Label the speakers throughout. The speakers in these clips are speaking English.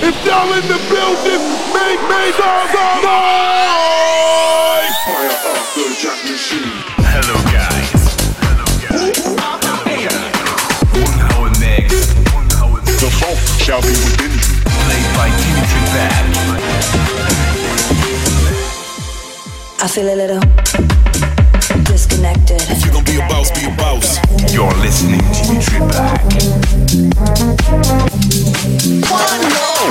Speaker 1: If y'all in the building, make some noise! Fire up the jack machine.
Speaker 2: Hello guys. One hour mix.
Speaker 1: The funk shall be within you.
Speaker 2: Played by Dimitri Bag.
Speaker 3: I feel a little disconnected.
Speaker 4: If you're gonna be a boss, be a boss.
Speaker 2: You're listening to Dimitri Bag.
Speaker 3: One more.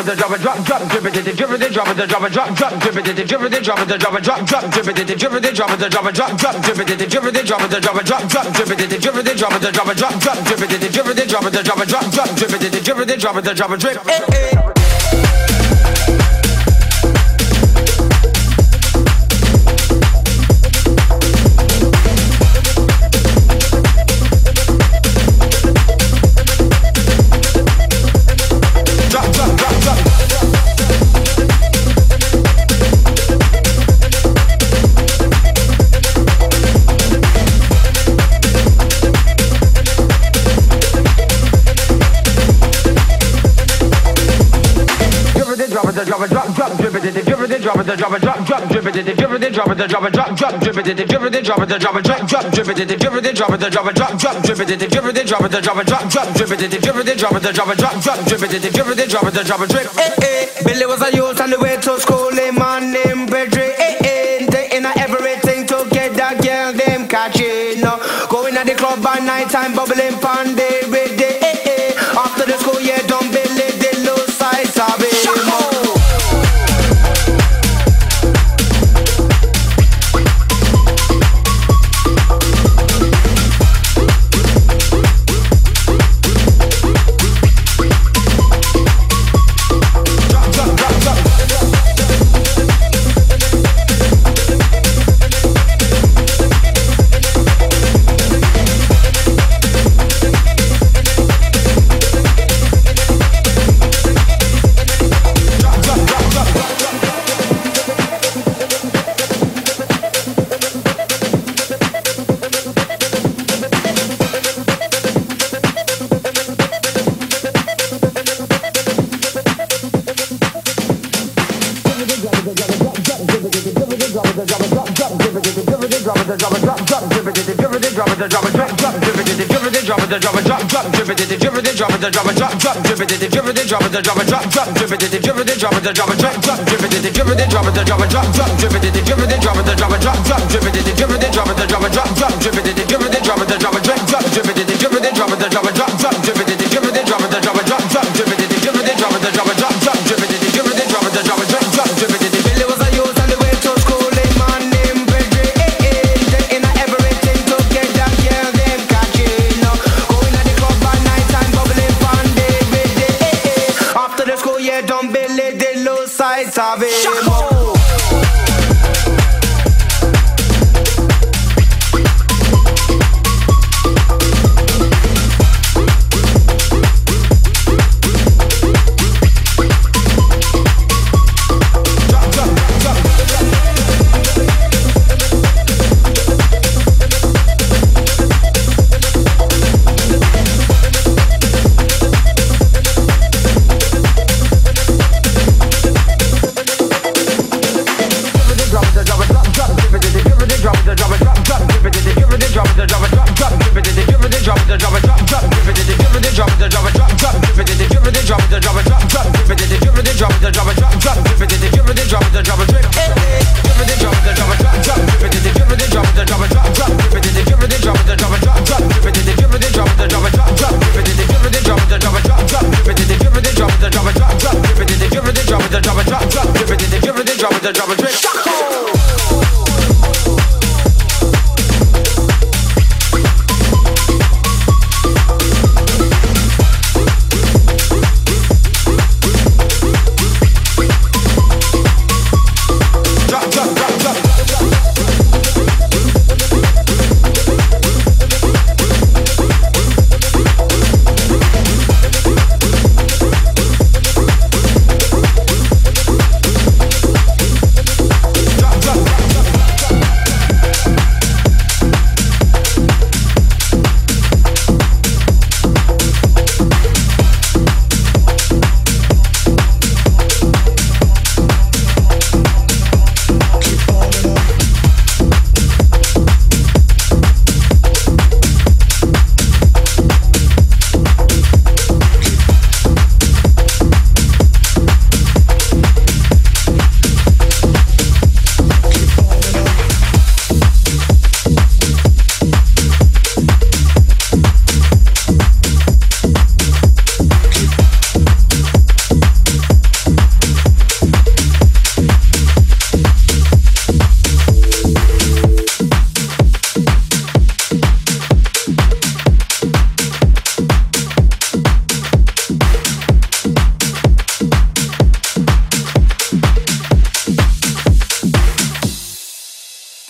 Speaker 5: it, drop it, drop, drop, drip it, drip it, drop it, drop it, drop, drop, drip it, drip it, drop it, drop it, drop, drop, drip it, drip it, drop it, drop it, drop, drop, drip it, drip it, drop it, drop it, drop, drop, drip it, drip it, drop it, drop it, drop, drop, drip it, drip it, drop it, drop it, drop, drop, drip it, drip it, drop it, drop it, drip. Drop it, drop it, drop, drop, drip it, drip it, drop it, drop it, drop, drop, drip it, drip it, drop it, drop it, drop, drop, drip it, drip it, drop it, drop it, drop, drop, drip it, drip it, drop it, drop it, drop, drop, drip it, drip it, drop it, drop it, drop, drop, drip it, drip it, drop it, drop it, drop, drop, drip it, drip it, drop it, drop it, drip.
Speaker 6: Billy was a youth on the way to school, him man named Pedri. Taking everything together, girl them catching. Going at the club by night time, bubbling pan day with day. After the school year done, Billy they lose sight of it.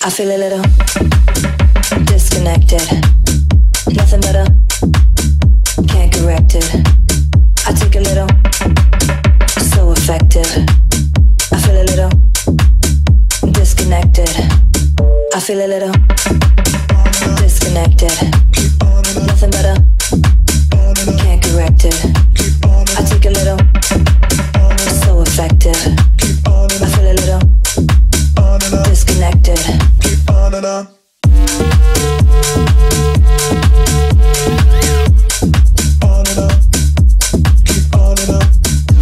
Speaker 3: I feel a little disconnected. Nothing better, can't correct it. I take a little, so effective. I feel a little disconnected. I feel a little disconnected. Nothing better, can't correct it. I take a little, so effective. I feel a little disconnected.
Speaker 7: Keep on and on. On and on. Keep on and on.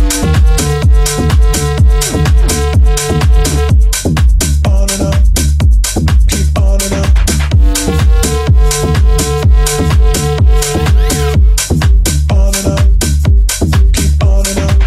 Speaker 7: On and on. Keep on and on. On and on. Keep on and on.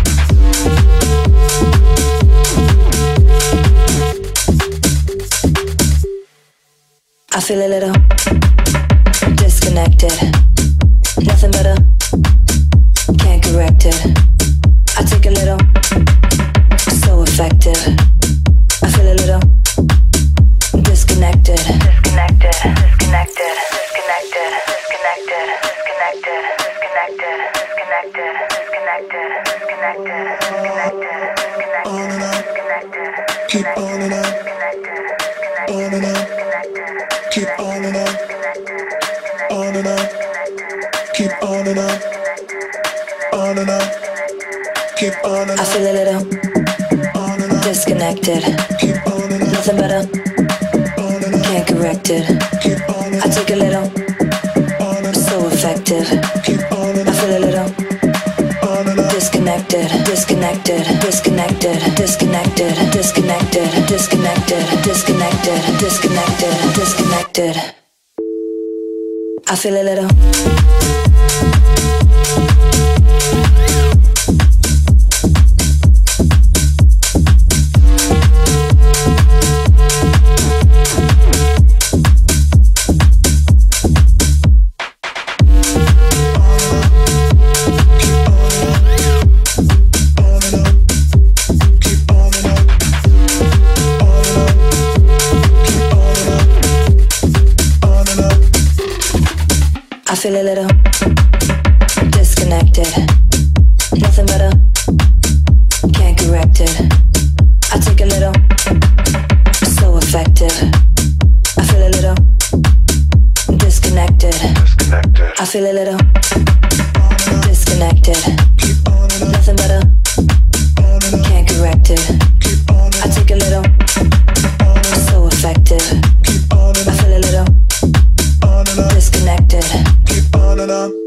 Speaker 3: I feel a little disconnected. Nothing better, can't correct it. I take a little, so effective. I feel a little disconnected. Disconnected, disconnected, disconnected, disconnected, disconnected, disconnected, disconnected, disconnected, disconnected, disconnected, disconnected, disconnected.
Speaker 7: Keep on and on. On and on. Keep on and on. On and on. Keep on and on. On and on. Keep on and on.
Speaker 3: I feel a little
Speaker 7: On and on.
Speaker 3: disconnected.
Speaker 7: Keep on and on.
Speaker 3: Nothing better,
Speaker 7: On and on.
Speaker 3: can't correct it.
Speaker 7: Keep on and
Speaker 3: I
Speaker 7: on.
Speaker 3: take a little,
Speaker 7: On and on.
Speaker 3: so effective.
Speaker 7: Keep on and
Speaker 3: I
Speaker 7: on.
Speaker 3: feel a little
Speaker 7: On and on.
Speaker 3: disconnected, disconnected, disconnected, disconnected, disconnected, disconnected, disconnected, disconnected, disconnected. I feel a little I feel a little disconnected. Nothing better, can't correct it. I take a little, so effective. I feel a little disconnected. I feel a little disconnected. Nothing better, can't correct it. I take a little, so effective. I feel a little disconnected.
Speaker 7: Keep on and on.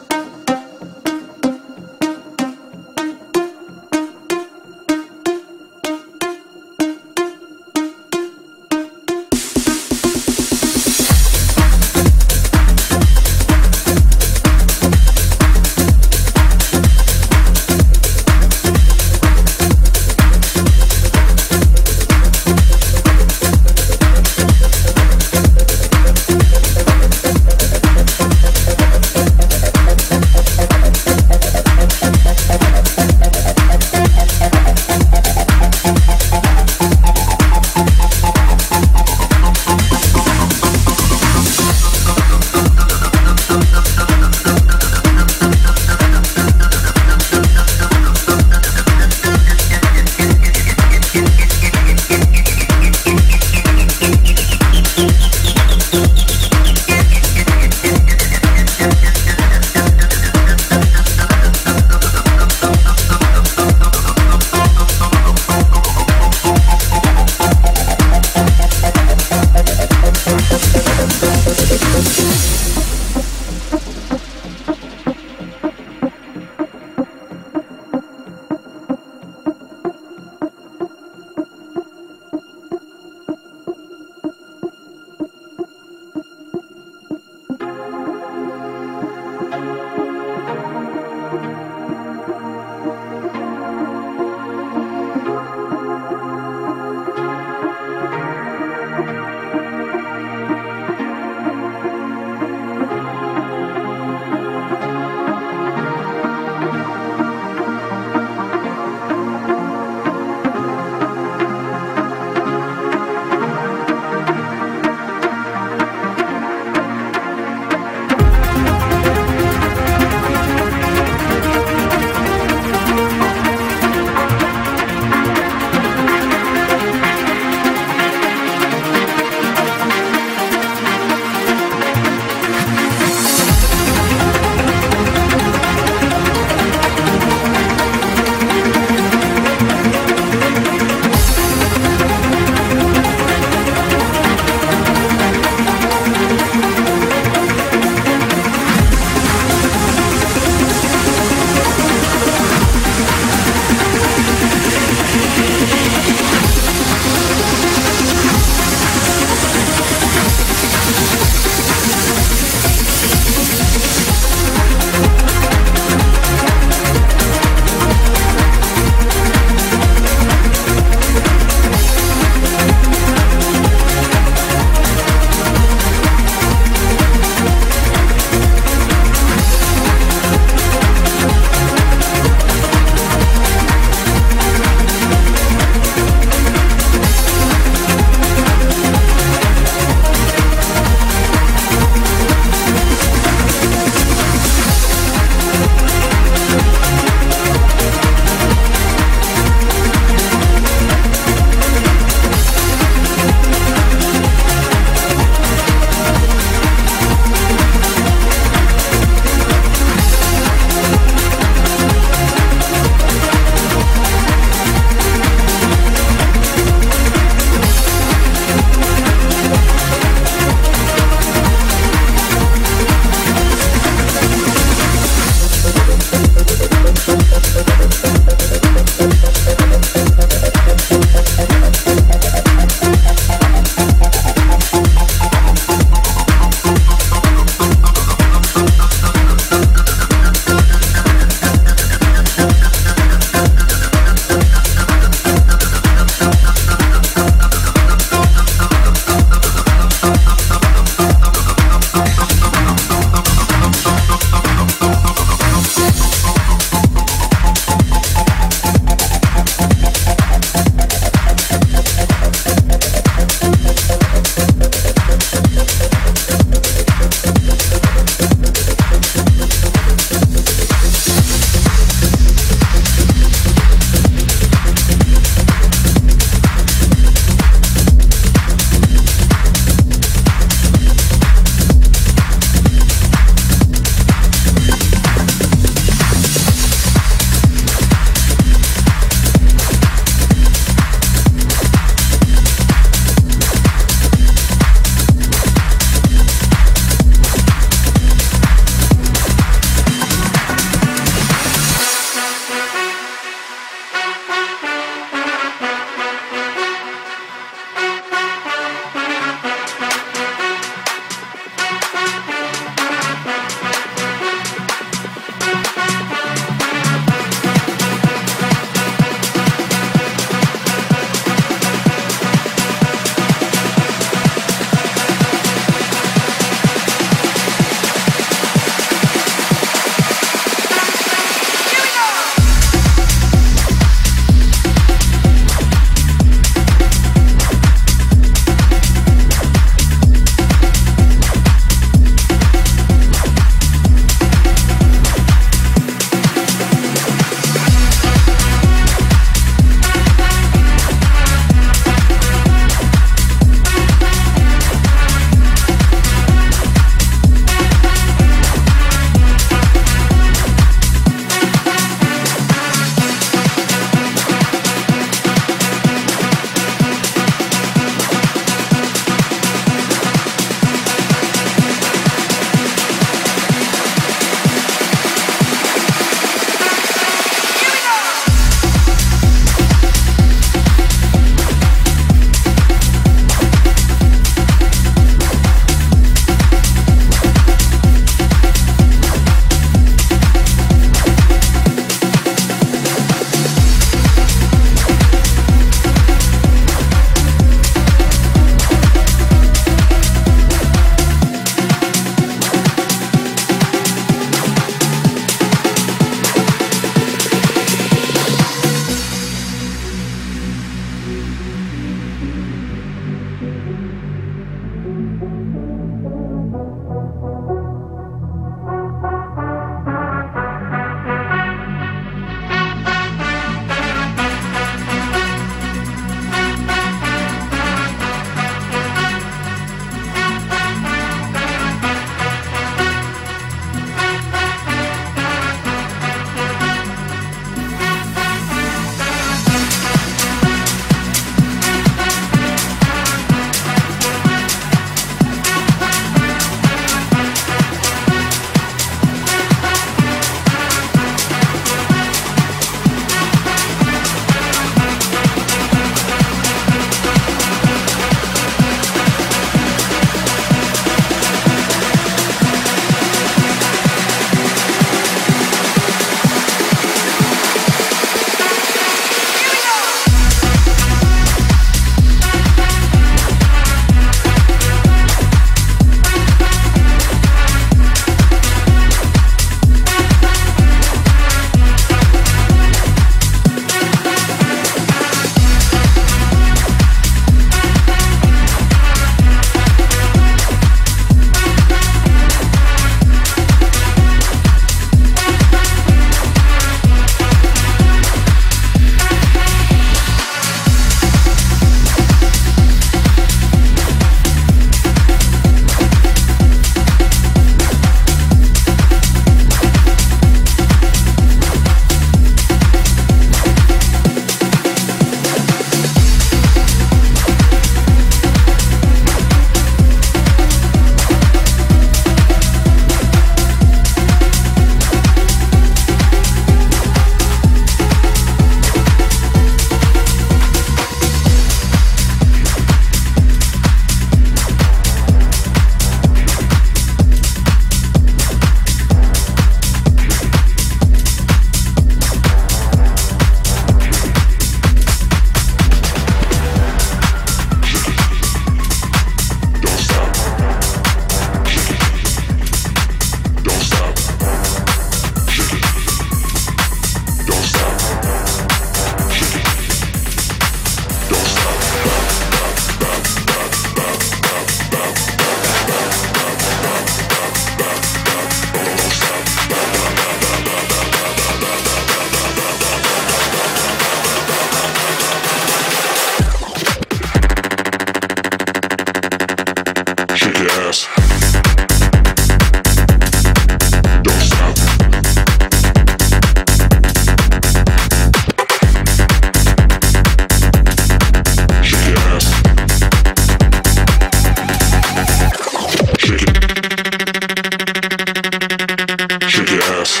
Speaker 1: Shake your ass.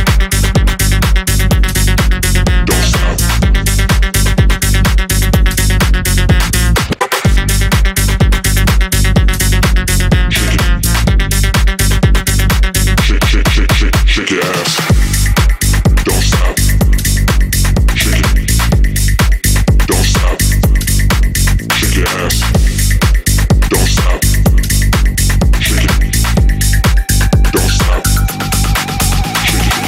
Speaker 1: Don't stop. Shake your ass. Don't stop. Shake it. Don't stop. Shake your ass. Don't stop. Shake it. Don't stop. Shake it.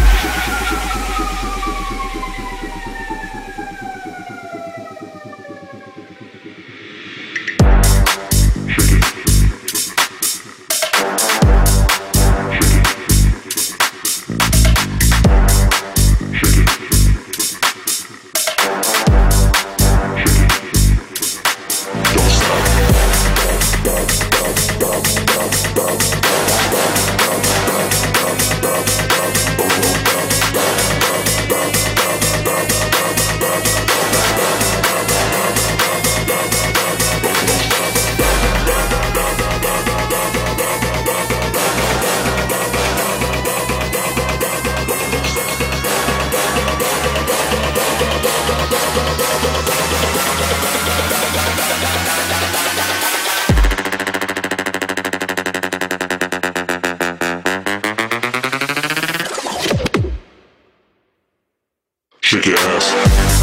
Speaker 1: Shake your ass.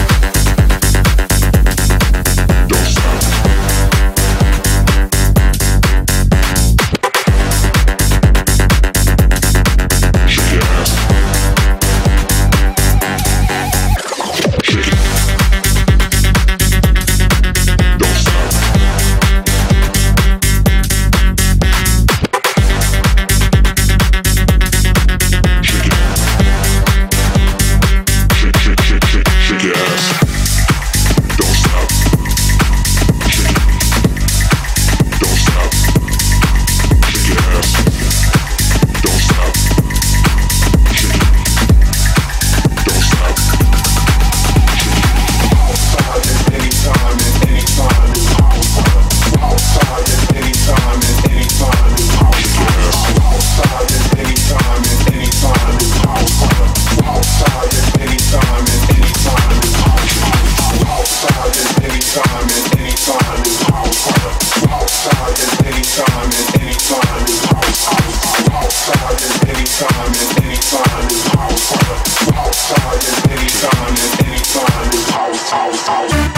Speaker 1: Don't stop. Shake your ass. Shake it. Don't stop. Shake it. Shake your ass. Don't stop. Shake it. Don't stop. Shake your ass. Don't stop. Shake it. Don't stop. Shake it.
Speaker 8: Outside at any time and any time is outside at any time and any time is outside at any time and any time is outside at any time and any time is outside at any time and any time is outside at any time and any time is outside at any time and any time is outside at any time and any time is out.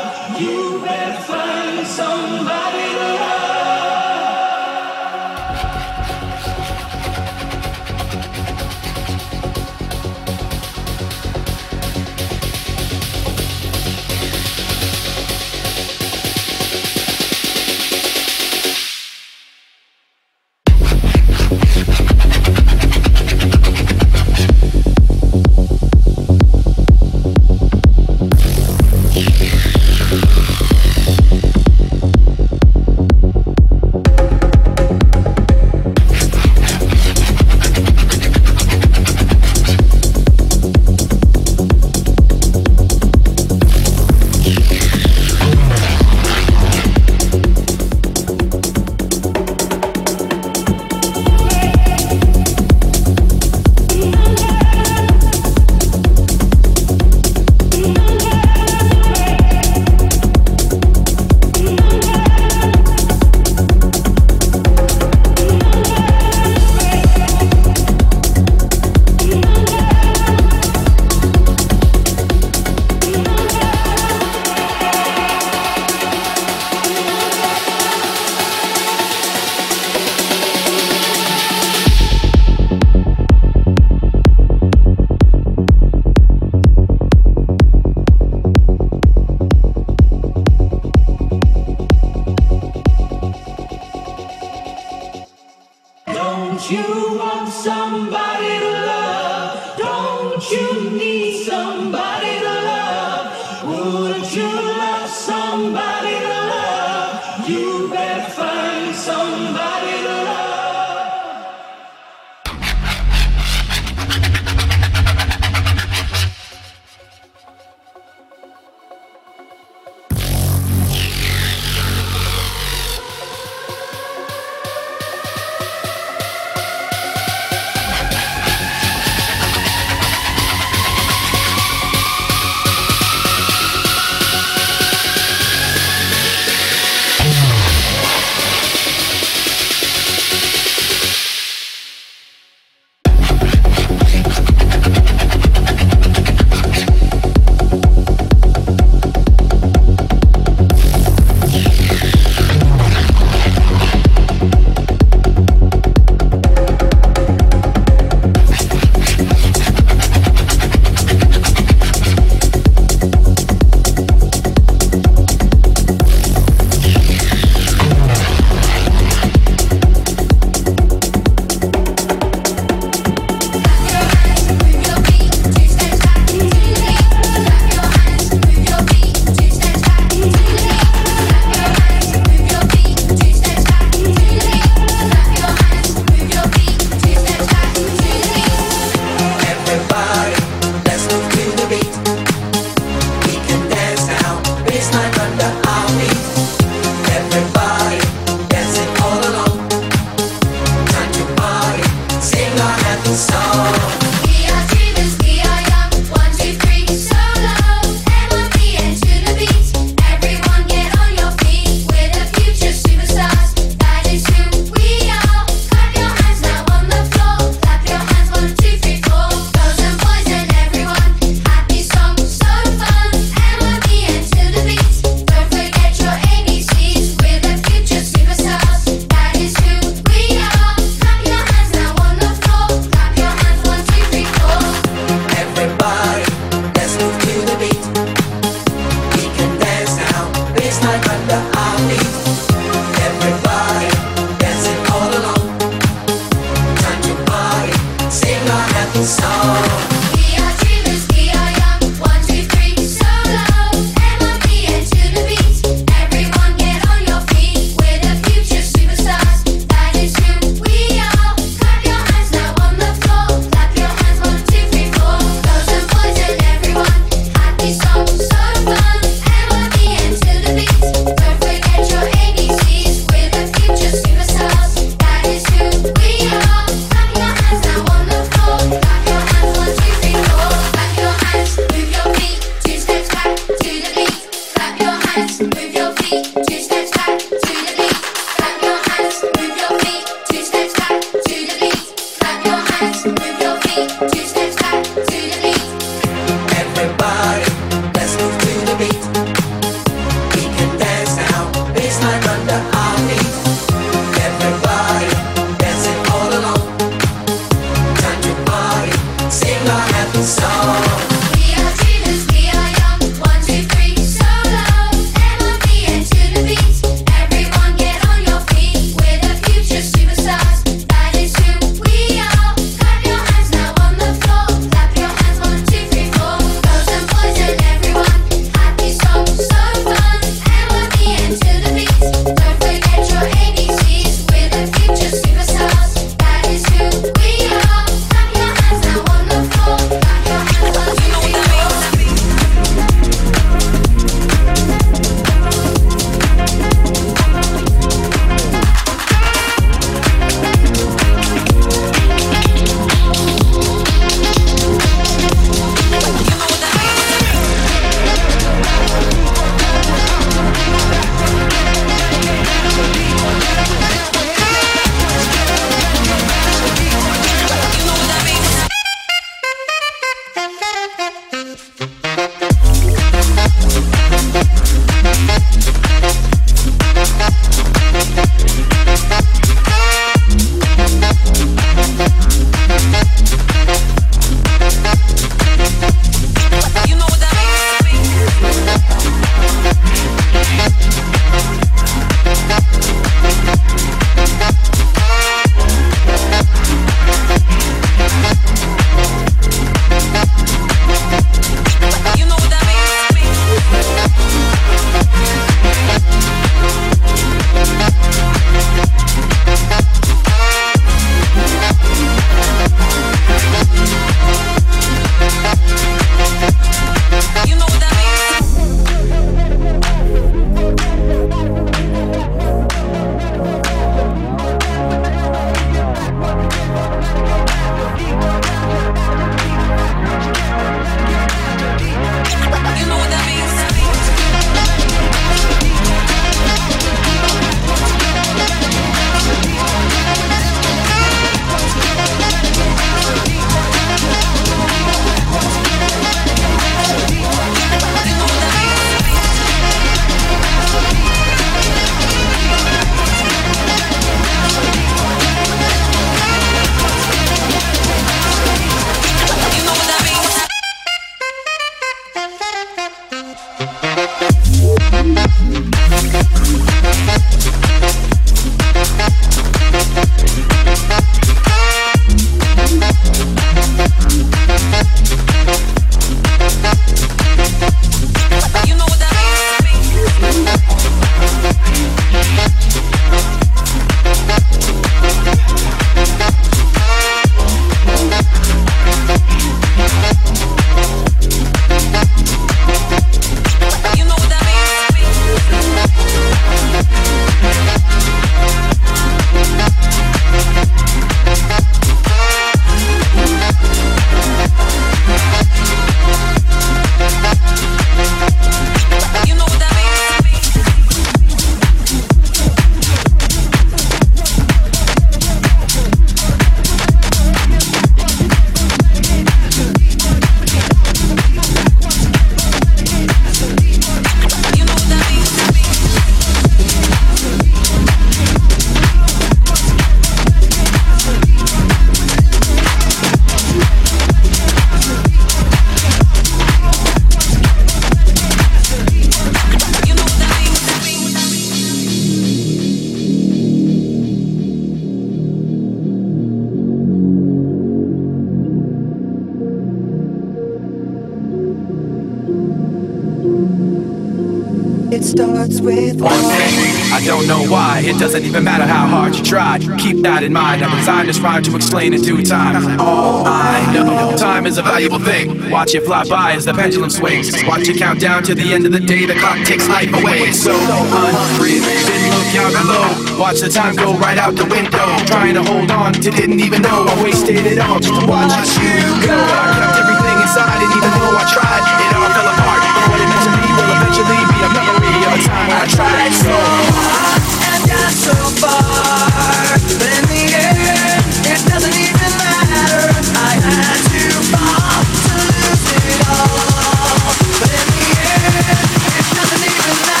Speaker 9: it starts with
Speaker 2: one thing. I don't know why. It doesn't even matter how hard you try. Keep that in mind. I designed this rhyme to explain in due time. All I know, time is a valuable thing. Watch it fly by as the pendulum swings. Watch it count down to the end of the day. The clock takes life away. It's so unreal. Didn't look out below. Watch the time go right out the window. Trying to hold on to didn't even know I wasted it all just to watch you go. I kept everything inside, and even though I tried, it all fell apart. But what it meant to me will eventually be a memory of a time when I tried so hard
Speaker 9: and got so far, but in the end, it doesn't even matter. I had to fall to lose it all, but in the end, it doesn't even matter.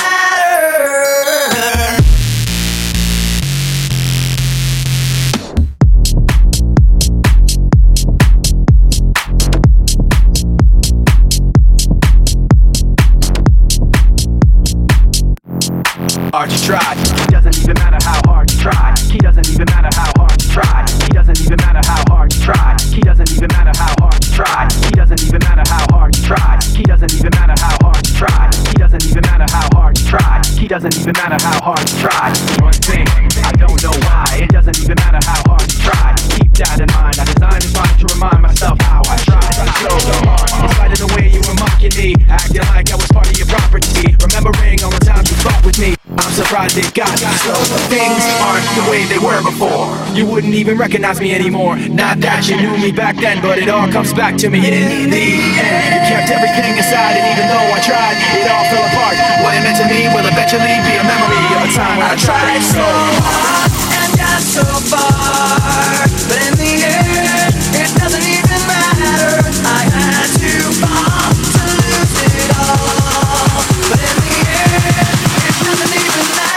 Speaker 2: Archie tried. He doesn't even matter how hard you try. He doesn't even matter how hard you try. He doesn't even matter how hard you try. He doesn't even matter how hard you try. He doesn't even matter how hard you try. He doesn't even matter how hard you try. He doesn't even matter how hard you try. He doesn't even matter how hard you try. One thing, I don't know why. It doesn't even matter how hard you try. Keep that in mind. I designed this rhyme to remind myself how I tried so hard. In spite of the way you were mocking me, acting like I was part of your property. Remembering all the times you fought with me. I'm surprised it got so. Things aren't the way they were before. You wouldn't even recognize me anymore. Not that you knew me back then, but it all comes back to me in the end. You kept everything aside, and even though I tried, it all fell apart. What it meant to me will eventually be a memory of a time when I tried so hard
Speaker 9: and got so far, but in the end, it doesn't even matter. I had to fall to lose it all, but in the end, it doesn't even matter.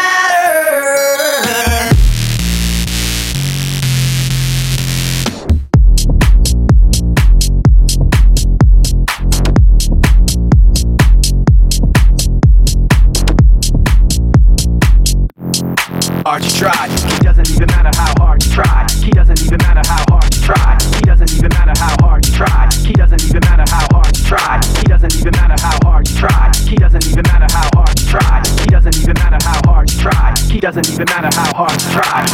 Speaker 2: Archie tried. He doesn't even matter how hard you try. He doesn't even matter how hard you try. He doesn't even matter how hard you try. He doesn't even matter how hard you try. He doesn't even matter how hard you try. He doesn't even matter how hard you try. He doesn't even matter how hard you try. He doesn't even matter how hard you try.